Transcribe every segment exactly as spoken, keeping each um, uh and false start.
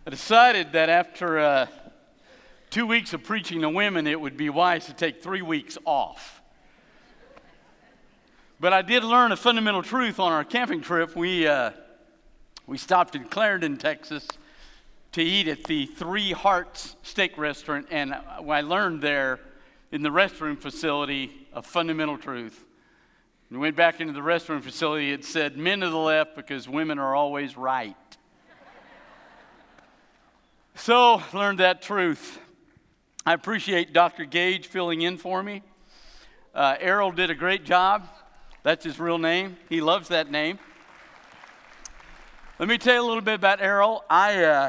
I decided that after uh, two weeks of preaching to women, it would be wise to take three weeks off. But I did learn a fundamental truth on our camping trip. We, uh, we stopped in Clarendon, Texas, to eat at the Three Hearts Steak Restaurant, and I learned there in the restroom facility a fundamental truth. We went back into the restroom facility. It said, "Men to the left because women are always right." So, learned that truth. I appreciate Doctor Gage filling in for me. Uh, Errol did a great job. That's his real name. He loves that name. Let me tell you a little bit about Errol. I, uh,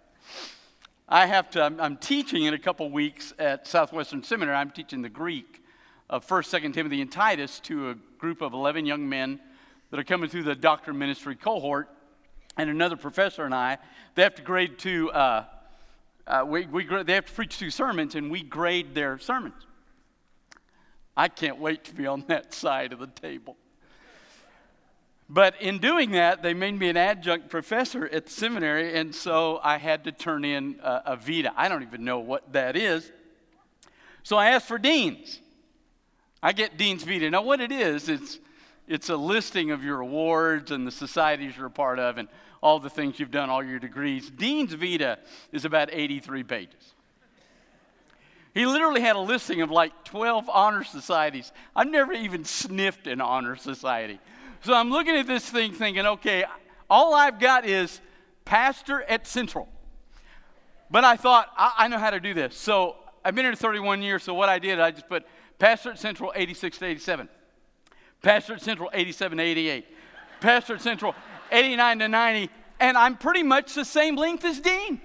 I have to, I'm, I'm teaching in a couple weeks at Southwestern Seminary. I'm teaching the Greek of First, Second Timothy, and Titus to a group of eleven young men that are coming through the doctor ministry cohort. And another professor and I, they have to grade two, uh, uh, we, we, they have to preach two sermons, and we grade their sermons. I can't wait to be on that side of the table. But in doing that, they made me an adjunct professor at the seminary, and so I had to turn in a, a vita. I don't even know what that is. So I asked for deans. I get dean's vita. Now what it is, it's It's a listing of your awards and the societies you're a part of and all the things you've done, all your degrees. Dean's Vita is about eighty-three pages. He literally had a listing of like twelve honor societies. I've never even sniffed an honor society. So I'm looking at this thing thinking, okay, all I've got is pastor at Central. But I thought, I, I know how to do this. So I've been here thirty-one years, so what I did, I just put pastor at Central eighty-six to eighty-seven. Pastor at Central, eighty-seven to eighty-eight. Pastor at Central, eighty-nine to ninety. And I'm pretty much the same length as Dean.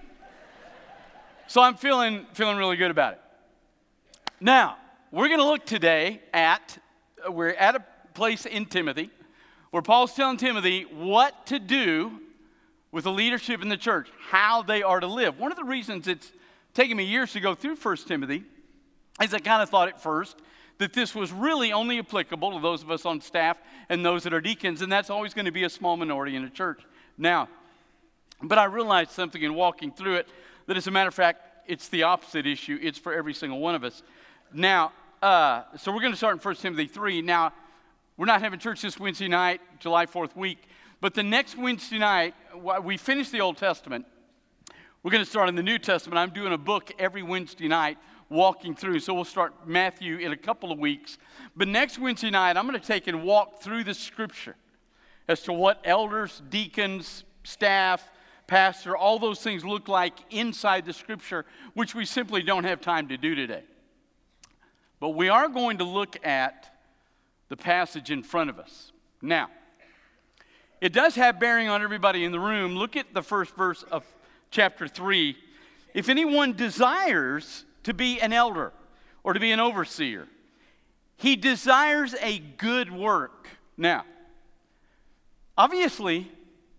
So I'm feeling, feeling really good about it. Now, we're going to look today at, we're at a place in Timothy where Paul's telling Timothy what to do with the leadership in the church, how they are to live. One of the reasons it's taken me years to go through First Timothy is I kind of thought at first that this was really only applicable to those of us on staff and those that are deacons, and that's always going to be a small minority in a church. Now, but I realized something in walking through it, that as a matter of fact, it's the opposite issue. It's for every single one of us. Now, uh, so we're going to start in First Timothy three. Now, we're not having church this Wednesday night, July fourth week, but the next Wednesday night, we finish the Old Testament. We're going to start in the New Testament. I'm doing a book every Wednesday night, walking through. So we'll start Matthew in a couple of weeks. But next Wednesday night, I'm going to take and walk through the scripture as to what elders, deacons, staff, pastor, all those things look like inside the scripture, which we simply don't have time to do today. But we are going to look at the passage in front of us. Now, it does have bearing on everybody in the room. Look at the first verse of chapter three. If anyone desires to be an elder or to be an overseer, he desires a good work. Now, obviously,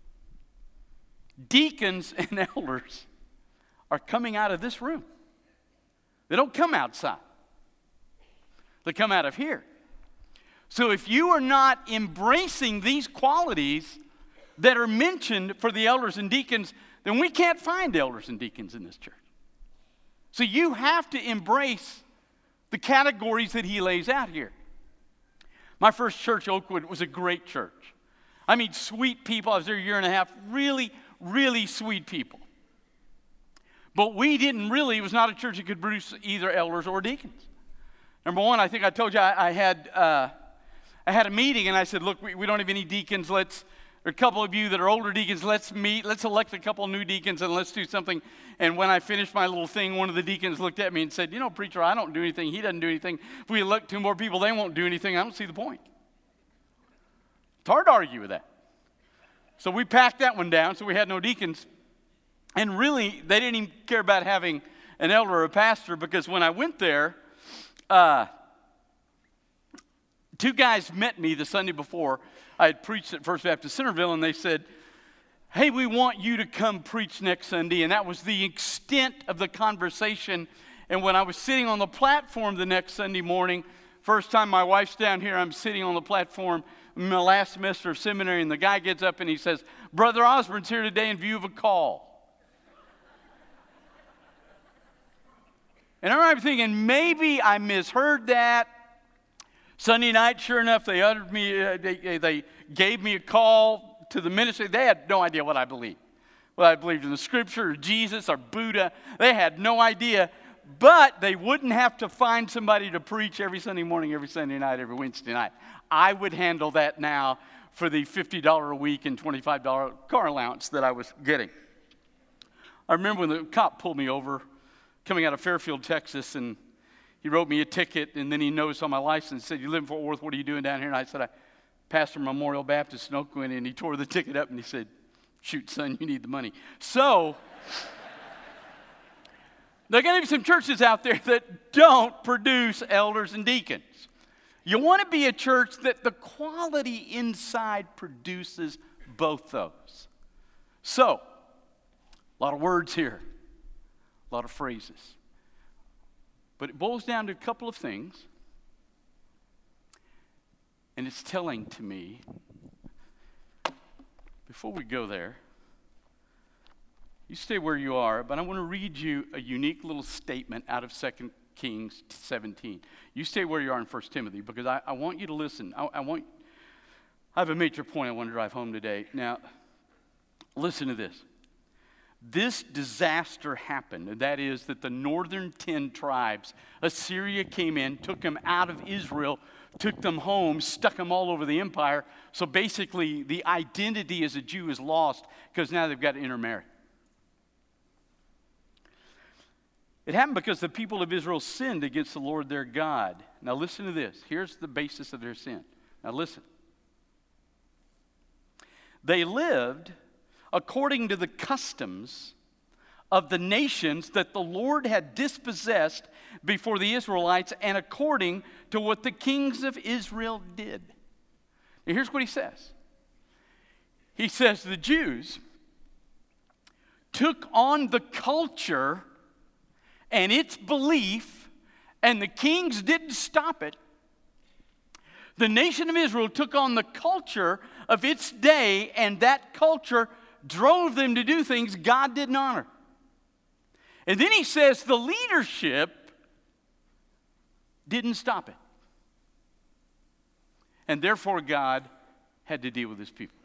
deacons and elders are coming out of this room. They don't come outside. They come out of here. So if you are not embracing these qualities that are mentioned for the elders and deacons, then we can't find elders and deacons in this church. So you have to embrace the categories that he lays out here. My first church, Oakwood, was a great church. I mean, sweet people. I was there a year and a half. Really, really sweet people. But we didn't really, it was not a church that could produce either elders or deacons. Number one, I think I told you I, I had uh, I had a meeting and I said, look, we, we don't have any deacons. Let's, there are a couple of you that are older deacons. Let's meet. Let's elect a couple of new deacons and let's do something. And when I finished my little thing, one of the deacons looked at me and said, you know, preacher, I don't do anything. He doesn't do anything. If we elect two more people, they won't do anything. I don't see the point. It's hard to argue with that. So we packed that one down, so we had no deacons. And really, they didn't even care about having an elder or a pastor, because when I went there, uh, two guys met me the Sunday before I had preached at First Baptist Centerville, and they said, hey, we want you to come preach next Sunday. And that was the extent of the conversation. And when I was sitting on the platform the next Sunday morning, first time my wife's down here, I'm sitting on the platform in my last semester of seminary, and the guy gets up and he says, Brother Osborne's here today in view of a call. And I remember thinking, maybe I misheard that. Sunday night, sure enough, they uttered me, uh, they, they gave me a call to the ministry. They had no idea what I believed. Well, I believed in the Scripture or Jesus or Buddha. They had no idea. But they wouldn't have to find somebody to preach every Sunday morning, every Sunday night, every Wednesday night. I would handle that now for the fifty dollars a week and twenty-five dollars car allowance that I was getting. I remember when the cop pulled me over coming out of Fairfield, Texas, and he wrote me a ticket, and then he noticed on my license and said, "You live in Fort Worth, what are you doing down here?" And I said, "I pastor Memorial Baptist in Oakland," and he tore the ticket up and he said, "Shoot, son, you need the money." So there are going to be some churches out there that don't produce elders and deacons. You want to be a church that the quality inside produces both those. So, a lot of words here, a lot of phrases. But it boils down to a couple of things. And it's telling to me, before we go there, you stay where you are, but I want to read you a unique little statement out of Second Kings seventeen. You stay where you are in First Timothy, because I, I want you to listen. I, I want. I have a major point I want to drive home today. Now, listen to this. This disaster happened, and that is that the northern ten tribes, Assyria came in, took them out of Israel, took them home, stuck them all over the empire. So basically, the identity as a Jew is lost because now they've got to intermarry. It happened because the people of Israel sinned against the Lord their God. Now listen to this. Here's the basis of their sin. Now listen. They lived according to the customs of the nations that the Lord had dispossessed before the Israelites, and according to what the kings of Israel did. Now here's what he says. He says the Jews took on the culture and its belief, and the kings didn't stop it. The nation of Israel took on the culture of its day, and that culture drove them to do things God didn't honor. And then he says the leadership didn't stop it. And therefore God had to deal with his people.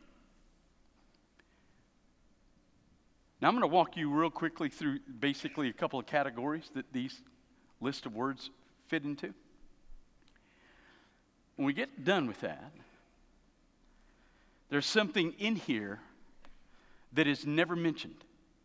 Now I'm going to walk you real quickly through basically a couple of categories that these list of words fit into. When we get done with that, there's something in here that is never mentioned.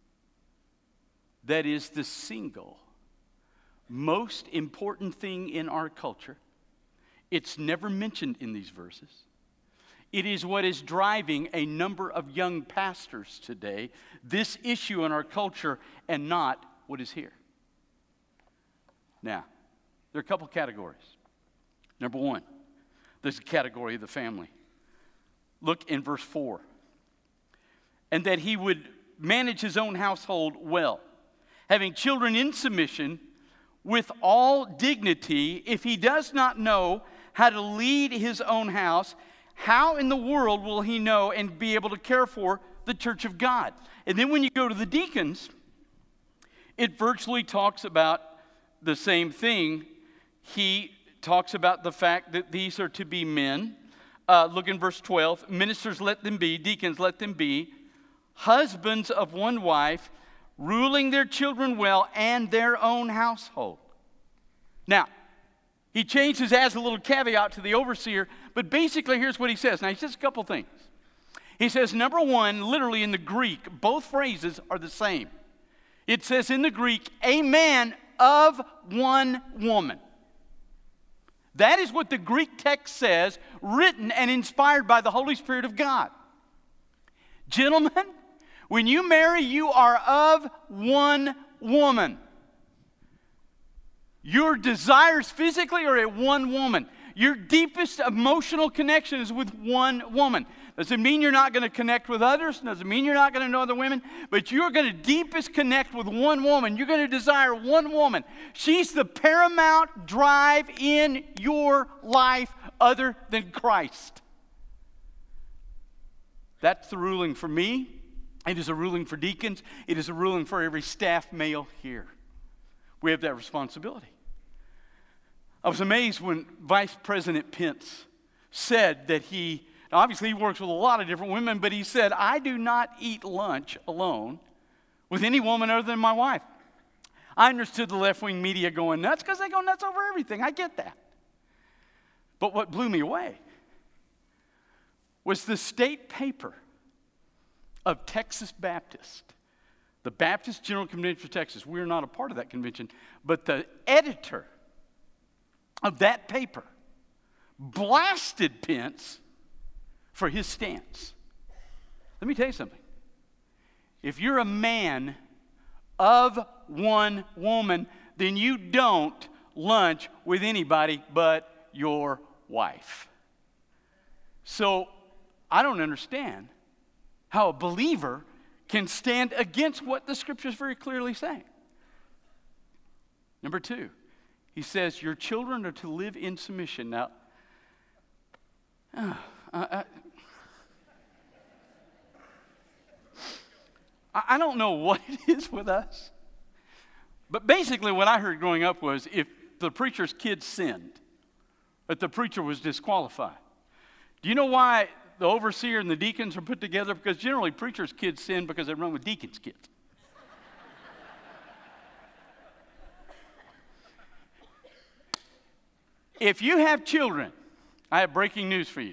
That is the single most important thing in our culture. It's never mentioned in these verses. It is what is driving a number of young pastors today, this issue in our culture, and not what is here. Now, there are a couple categories. Number one, there's a category of the family. Look in verse four. And that he would manage his own household well, having children in submission with all dignity. If he does not know how to lead his own house, how in the world will he know and be able to care for the church of God? And then when you go to the deacons, it virtually talks about the same thing. He talks about the fact that these are to be men. Uh, look in verse twelve. Ministers, let them be. Deacons, let them be. Husbands of one wife, ruling their children well and their own household. Now, he changes, adds a little caveat to the overseer, but basically here's what he says. Now, he says a couple things. He says, number one, literally in the Greek, both phrases are the same. It says in the Greek, a man of one woman. That is what the Greek text says, written and inspired by the Holy Spirit of God. Gentlemen, when you marry, you are of one woman. Your desires physically are at one woman. Your deepest emotional connection is with one woman. Doesn't mean you're not going to connect with others. Doesn't mean you're not going to know other women. But you're going to deepest connect with one woman. You're going to desire one woman. She's the paramount drive in your life other than Christ. That's the ruling for me. It is a ruling for deacons. It is a ruling for every staff male here. We have that responsibility. I was amazed when Vice President Pence said that he, now obviously he works with a lot of different women, but he said, I do not eat lunch alone with any woman other than my wife. I understood the left-wing media going nuts because they go nuts over everything. I get that. But what blew me away was the state paper of Texas Baptist, the Baptist General Convention for Texas. We're not a part of that convention, but the editor of that paper blasted Pence for his stance. Let me tell you something. If you're a man of one woman, then you don't lunch with anybody but your wife. So I don't understand how a believer can stand against what the Scripture is very clearly saying. Number two, he says your children are to live in submission. Now, uh, I, I, I don't know what it is with us, but basically what I heard growing up was if the preacher's kids sinned, that the preacher was disqualified. Do you know why the overseer and the deacons are put together? Because generally preachers' kids sin because they run with deacons' kids. If you have children, I have breaking news for you.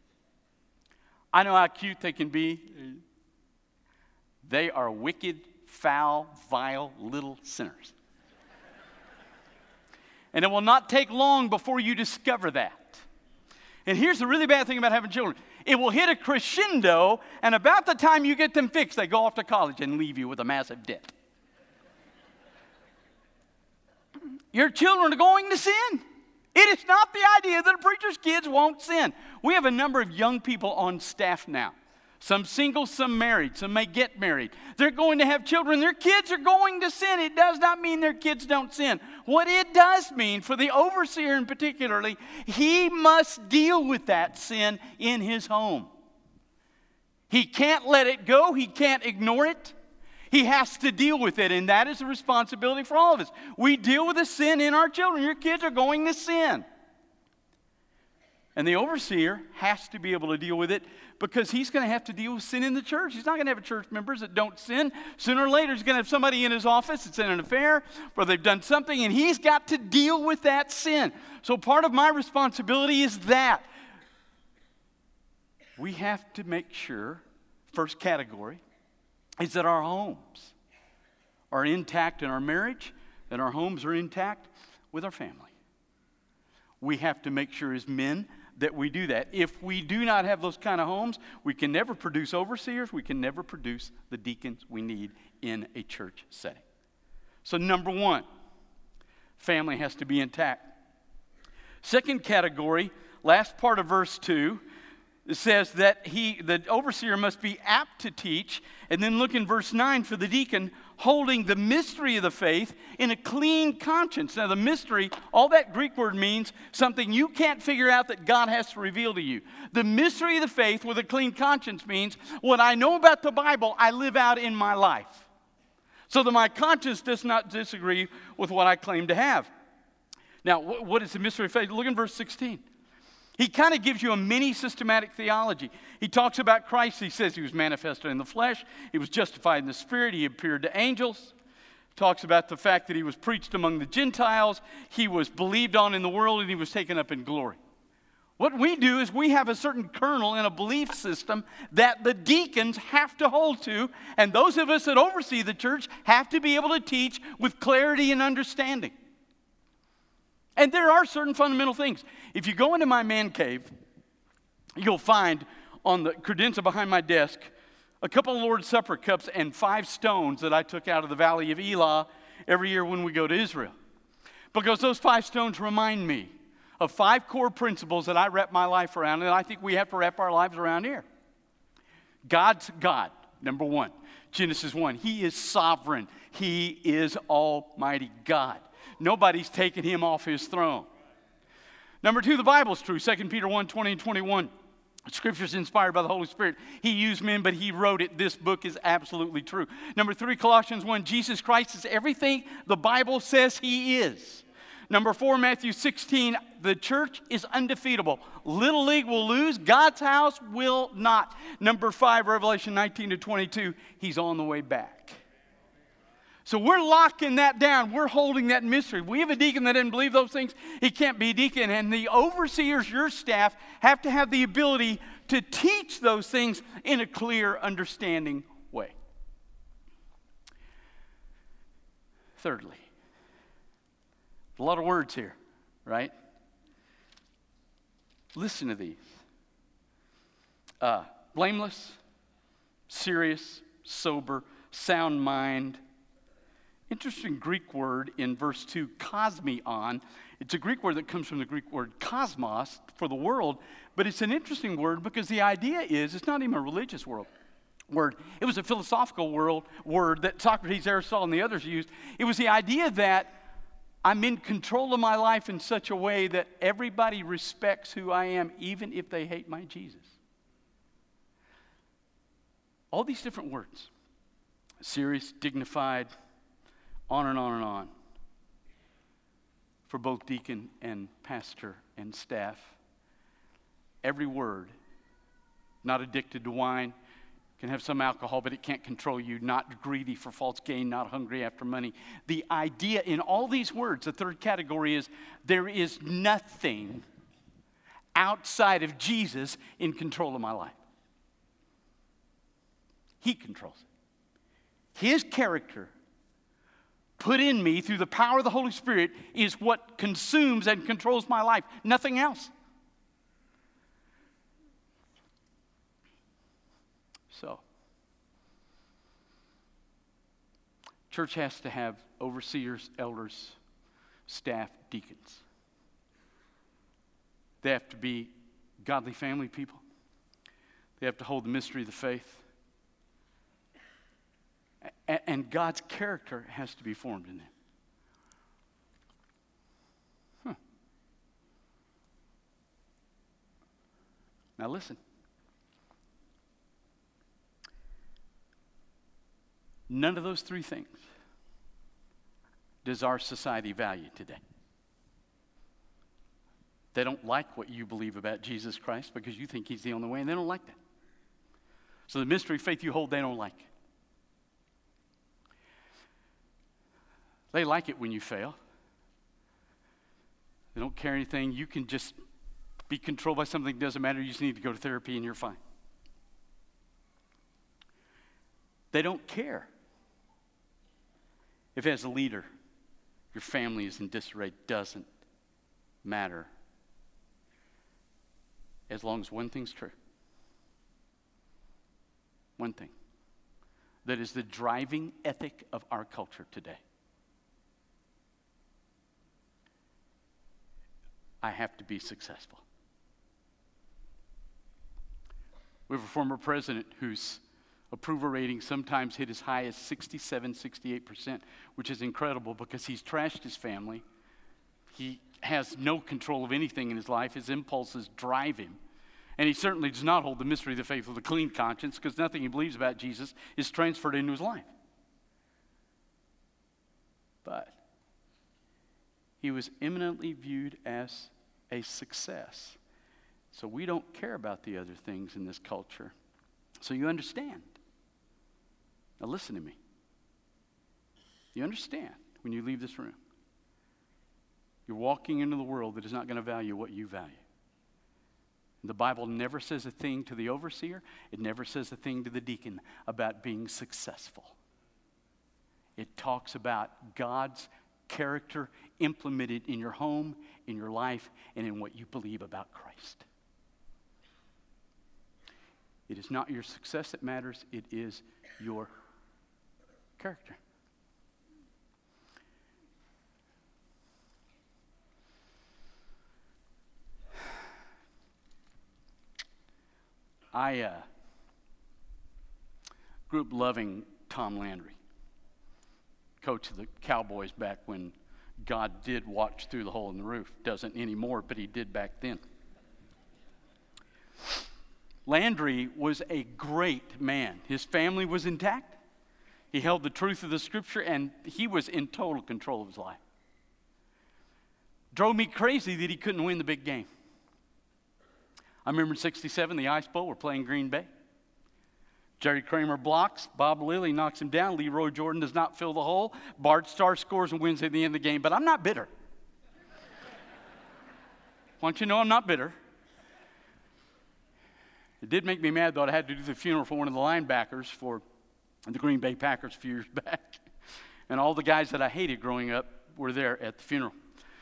I know how cute they can be. They are wicked, foul, vile little sinners. And it will not take long before you discover that. And here's the really bad thing about having children. It will hit a crescendo, and about the time you get them fixed, they go off to college and leave you with a massive debt. Your children are going to sin. It is not the idea that a preacher's kids won't sin. We have a number of young people on staff now. Some single, some married, some may get married. They're going to have children. Their kids are going to sin. It does not mean their kids don't sin. What it does mean for the overseer in particularly, he must deal with that sin in his home. He can't let it go. He can't ignore it. He has to deal with it, and that is a responsibility for all of us. We deal with the sin in our children. Your kids are going to sin. And the overseer has to be able to deal with it because he's going to have to deal with sin in the church. He's not going to have church members that don't sin. Sooner or later, he's going to have somebody in his office that's in an affair where they've done something, and he's got to deal with that sin. So part of my responsibility is that. We have to make sure, first category, is that our homes are intact in our marriage, that our homes are intact with our family. We have to make sure as men that we do that. If we do not have those kind of homes, we can never produce overseers. We can never produce the deacons we need in a church setting. So number one, family has to be intact. Second category, last part of verse two, it says that he, the overseer must be apt to teach. And then look in verse nine for the deacon, holding the mystery of the faith in a clean conscience. Now the mystery, all that Greek word means something you can't figure out that God has to reveal to you. The mystery of the faith with a clean conscience means what I know about the Bible, I live out in my life. So that my conscience does not disagree with what I claim to have. Now, what is the mystery of faith? Look in verse sixteen. He kind of gives you a mini systematic theology. He talks about Christ. He says he was manifested in the flesh. He was justified in the spirit. He appeared to angels. Talks about the fact that he was preached among the Gentiles. He was believed on in the world, and he was taken up in glory. What we do is we have a certain kernel in a belief system that the deacons have to hold to, and those of us that oversee the church have to be able to teach with clarity and understanding. And there are certain fundamental things. If you go into my man cave, you'll find on the credenza behind my desk a couple of Lord's Supper cups and five stones that I took out of the Valley of Elah every year when we go to Israel. Because those five stones remind me of five core principles that I wrap my life around, and I think we have to wrap our lives around here. God's God, number one. Genesis one, He is sovereign. He is Almighty God. Nobody's taken Him off His throne. Number two, the Bible's true. Second Peter one, twenty and twenty-one. Scripture's inspired by the Holy Spirit. He used men, but he wrote it. This book is absolutely true. Number three, Colossians one, Jesus Christ is everything the Bible says he is. Number four, Matthew sixteen, the church is undefeatable. Little League will lose. God's house will not. Number five, Revelation nineteen to twenty-two, he's on the way back. So we're locking that down. We're holding that mystery. We have a deacon that didn't believe those things. He can't be a deacon. And the overseers, your staff, have to have the ability to teach those things in a clear, understanding way. Thirdly, a lot of words here, right? Listen to these. Uh, blameless, serious, sober, sound mind. Interesting Greek word in verse two, kosmion. It's a Greek word that comes from the Greek word cosmos, for the world, but it's an interesting word because the idea is it's not even a religious world. Word. It was a philosophical world word that Socrates, Aristotle, and the others used. It was the idea that I'm in control of my life in such a way that everybody respects who I am, even if they hate my Jesus. All these different words. Serious, dignified, on and on and on. For both deacon and pastor and staff. Every word. Not addicted to wine. Can have some alcohol, but it can't control you. Not greedy for false gain, not hungry after money. The idea in all these words, the third category is there is nothing outside of Jesus in control of my life. He controls it. His character put in me through the power of the Holy Spirit is what consumes and controls my life. Nothing else. So, church has to have overseers, elders, staff, deacons. They have to be godly family people. They have to hold the mystery of the faith. A- and God's character has to be formed in them. Huh. Now listen. None of those three things does our society value today. They don't like what you believe about Jesus Christ because you think he's the only way, and they don't like that. So the mystery of faith you hold, they don't like. They like it when you fail. They don't care anything. You can just be controlled by something that doesn't matter. You just need to go to therapy and you're fine. They don't care if as a leader your family is in disarray. Doesn't matter. As long as one thing's true. One thing. That is the driving ethic of our culture today. I have to be successful. We have a former president whose approval rating sometimes hit as high as sixty-seven, sixty-eight percent, which is incredible because he's trashed his family. He has no control of anything in his life. His impulses drive him. And he certainly does not hold the mystery of the faith with a clean conscience because nothing he believes about Jesus is transferred into his life. But he was eminently viewed as a success. So we don't care about the other things in this culture. So you understand. Now listen to me. You understand when you leave this room. You're walking into the world that is not going to value what you value. The Bible never says a thing to the overseer. It never says a thing to the deacon about being successful. It talks about God's character implemented in your home, in your life, and in what you believe about Christ. It is not your success that matters. It is your character. I uh, grew up loving Tom Landry, coach of the Cowboys back when God did watch through the hole in the roof. Doesn't anymore, but he did back then. Landry was a great man. His family was intact. He held the truth of the Scripture, and he was in total control of his life. Drove me crazy that he couldn't win the big game. I remember in sixty-seven, the Ice Bowl, we're playing Green Bay. Jerry Kramer blocks. Bob Lilly knocks him down. Leroy Jordan does not fill the hole. Bart Starr scores and wins at the end of the game. But I'm not bitter. Want you to know I'm not bitter. It did make me mad, though. I had to do the funeral for one of the linebackers for the Green Bay Packers a few years back. And all the guys that I hated growing up were there at the funeral.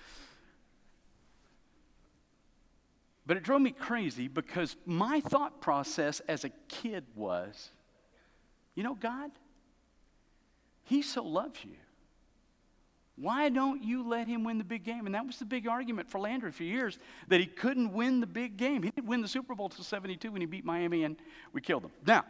But it drove me crazy because my thought process as a kid was, you know, God, He so loves you. Why don't you let Him win the big game? And that was the big argument for Landry for years, that he couldn't win the big game. He didn't win the Super Bowl until seventy-two when he beat Miami and we killed him. Now,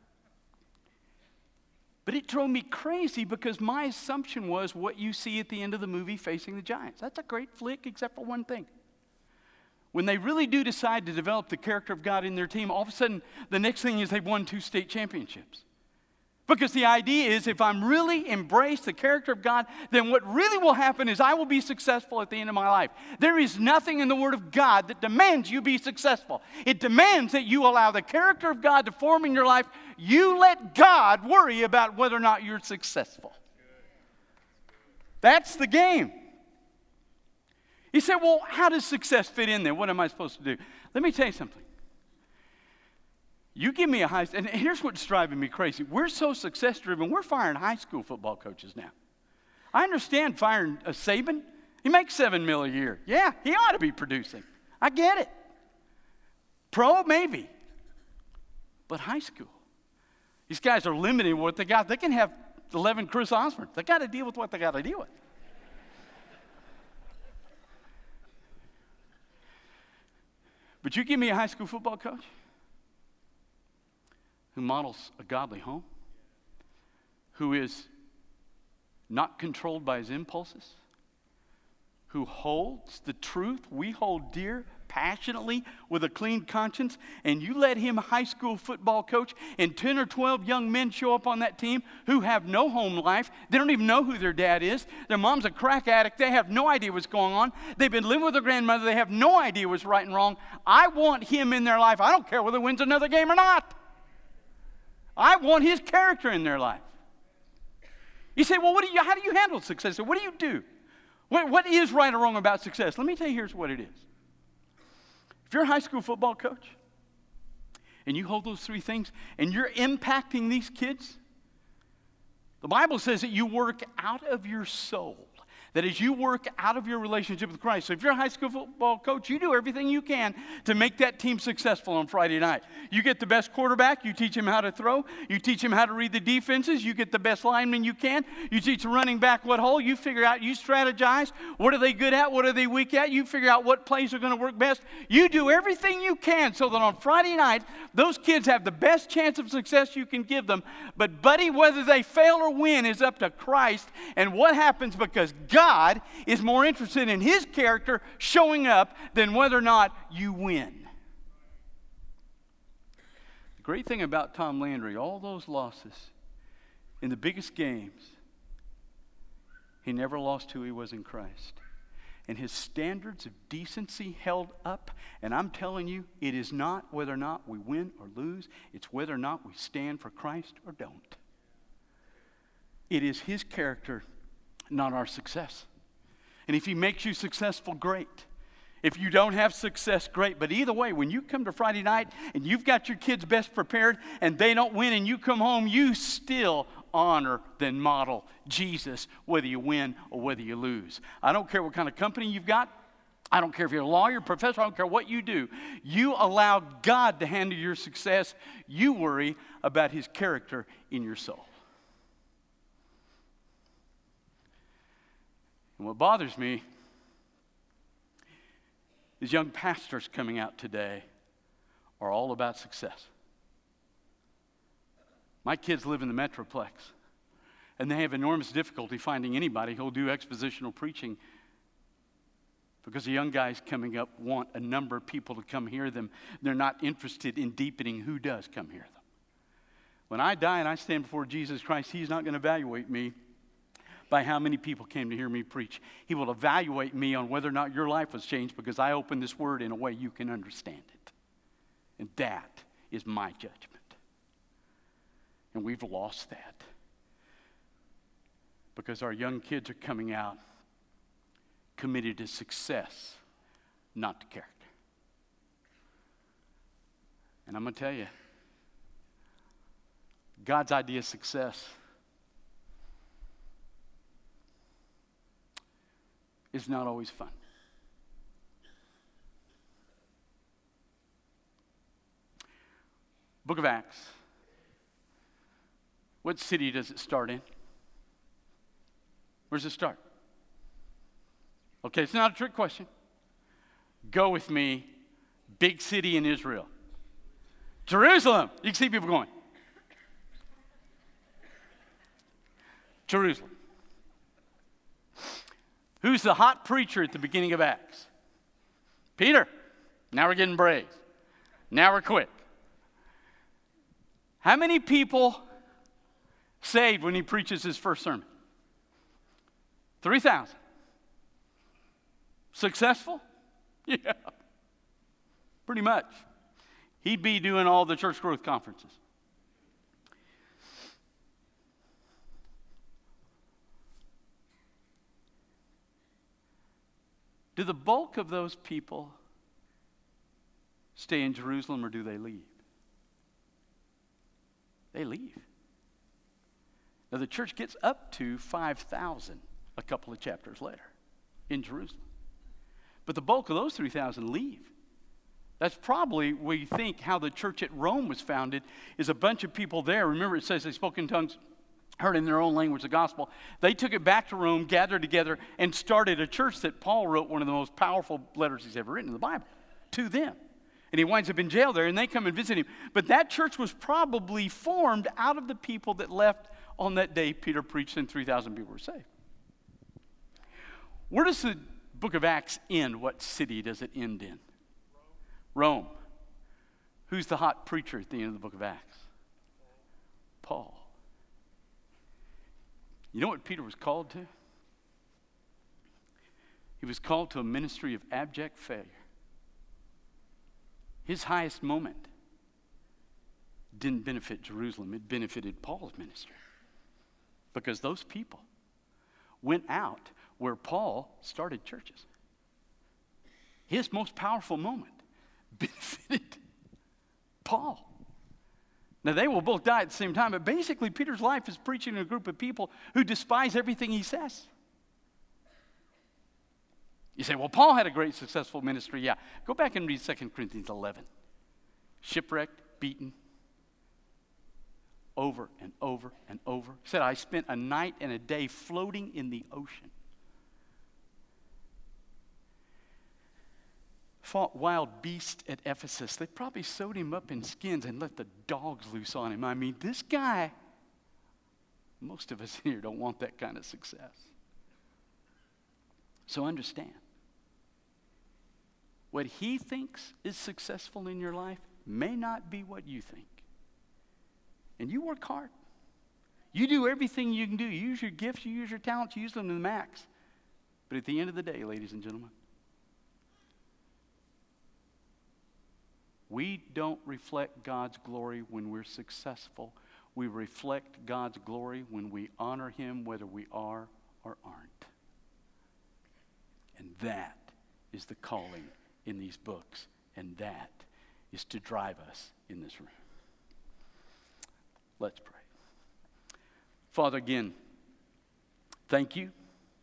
but it drove me crazy because my assumption was what you see at the end of the movie, Facing the Giants. That's a great flick except for one thing. When they really do decide to develop the character of God in their team, all of a sudden, the next thing is they've won two state championships. Because the idea is if I'm really embrace the character of God, then what really will happen is I will be successful at the end of my life. There is nothing in the Word of God that demands you be successful. It demands that you allow the character of God to form in your life. You let God worry about whether or not you're successful. That's the game. You say, well, how does success fit in there? What am I supposed to do? Let me tell you something. You give me a high, and here's what's driving me crazy. We're so success-driven, we're firing high school football coaches now. I understand firing a Saban. He makes seven mil a year. Yeah, he ought to be producing. I get it. Pro, maybe. But high school. These guys are limited in what they got. They can have eleven Chris Osborne. They got to deal with what they got to deal with. But you give me a high school football coach who models a godly home, who is not controlled by his impulses, who holds the truth we hold dear passionately with a clean conscience, and you let him high school football coach, and ten or twelve young men show up on that team who have no home life. They don't even know who their dad is. Their mom's a crack addict. They have no idea what's going on. They've been living with their grandmother. They have no idea what's right and wrong. I want him in their life. I don't care whether he wins another game or not. I want his character in their life. You say, well, what do you, how do you handle success? What do you do? What, what is right or wrong about success? Let me tell you, here's what it is. If you're a high school football coach and you hold those three things and you're impacting these kids, the Bible says that you work out of your soul. That as you work out of your relationship with Christ. So if you're a high school football coach, you do everything you can to make that team successful on Friday night. You get the best quarterback. You teach him how to throw. You teach him how to read the defenses. You get the best lineman you can. You teach the running back what hole. You figure out, you strategize. What are they good at? What are they weak at? You figure out what plays are going to work best. You do everything you can so that on Friday night, those kids have the best chance of success you can give them. But buddy, whether they fail or win is up to Christ and what happens because God God is more interested in His character showing up than whether or not you win. The great thing about Tom Landry, all those losses in the biggest games, he never lost who he was in Christ. And his standards of decency held up. And I'm telling you, it is not whether or not we win or lose. It's whether or not we stand for Christ or don't. It is His character, not our success. And if He makes you successful, great. If you don't have success, great. But either way, when you come to Friday night and you've got your kids best prepared and they don't win and you come home, you still honor then model Jesus, whether you win or whether you lose. I don't care what kind of company you've got. I don't care if you're a lawyer, professor, I don't care what you do. You allow God to handle your success. You worry about His character in your soul. And what bothers me is young pastors coming out today are all about success. My kids live in the Metroplex, and they have enormous difficulty finding anybody who'll do expositional preaching Because the young guys coming up want a number of people to come hear them. They're not interested in deepening who does come hear them. When I die and I stand before Jesus Christ, he's not going to evaluate me by how many people came to hear me preach. He will evaluate me on whether or not your life was changed because I opened this word in a way you can understand it. And that is my judgment. And we've lost that because our young kids are coming out committed to success, not to character. And I'm going to tell you, God's idea of success is not always fun. Book of Acts. What city does it start in? Where does it start? Okay, it's not a trick question. Go with me. Big city in Israel. Jerusalem. You can see people going. Jerusalem. Who's the hot preacher at the beginning of Acts? Peter. Now we're getting brave. Now we're quick. How many people saved when he preaches his first sermon? three thousand. Successful? Yeah. Pretty much. He'd be doing all the church growth conferences. Do the bulk of those people stay in Jerusalem or do they leave? They leave. Now the church gets up to five thousand a couple of chapters later in Jerusalem. But the bulk of those three thousand leave. That's probably, we think, how the church at Rome was founded, is a bunch of people there. Remember, it says they spoke in tongues, heard in their own language the gospel. They took it back to Rome, gathered together, and started a church that Paul wrote one of the most powerful letters he's ever written in the Bible to them. And he winds up in jail there, and they come and visit him. But that church was probably formed out of the people that left on that day Peter preached, and three thousand people were saved. Where does the book of Acts end? What city does it end in? Rome. Rome. Who's the hot preacher at the end of the book of Acts? Paul. Paul. You know what Peter was called to? He was called to a ministry of abject failure. His highest moment didn't benefit Jerusalem. It benefited Paul's ministry. Because those people went out where Paul started churches. His most powerful moment benefited Paul. Now, they will both die at the same time, but basically Peter's life is preaching to a group of people who despise everything he says. You say, well, Paul had a great successful ministry. Yeah, go back and read Second Corinthians eleven. Shipwrecked, beaten, over and over and over. He said, I spent a night and a day floating in the ocean. Fought wild beasts at Ephesus. They probably sewed him up in skins and let the dogs loose on him. I mean, this guy, most of us here don't want that kind of success. So understand, what he thinks is successful in your life may not be what you think. And you work hard. You do everything you can do. You use your gifts, you use your talents, you use them to the max. But at the end of the day, ladies and gentlemen, we don't reflect God's glory when we're successful. We reflect God's glory when we honor him, whether we are or aren't. And that is the calling in these books. And that is to drive us in this room. Let's pray. Father, again, thank you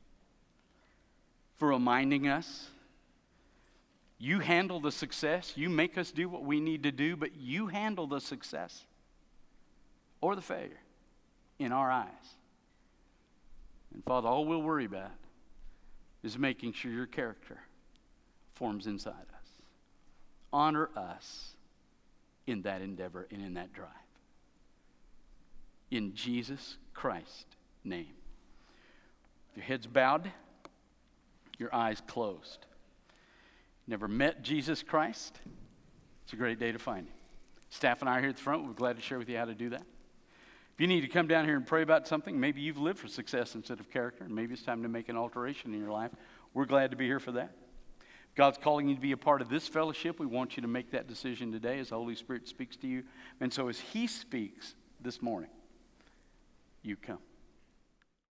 for reminding us. You handle the success. You make us do what we need to do, but you handle the success or the failure in our eyes. And Father, all we'll worry about is making sure your character forms inside us. Honor us in that endeavor and in that drive. In Jesus Christ's name. Your heads bowed, your eyes closed. never met Jesus Christ, it's a great day to find him. Staff and I are here at the front. We're glad to share with you how to do that. If you need to come down here and pray about something, maybe you've lived for success instead of character, and maybe it's time to make an alteration in your life, we're glad to be here for that. If God's calling you to be a part of this fellowship, we want you to make that decision today as the Holy Spirit speaks to you. And so as he speaks this morning, you come.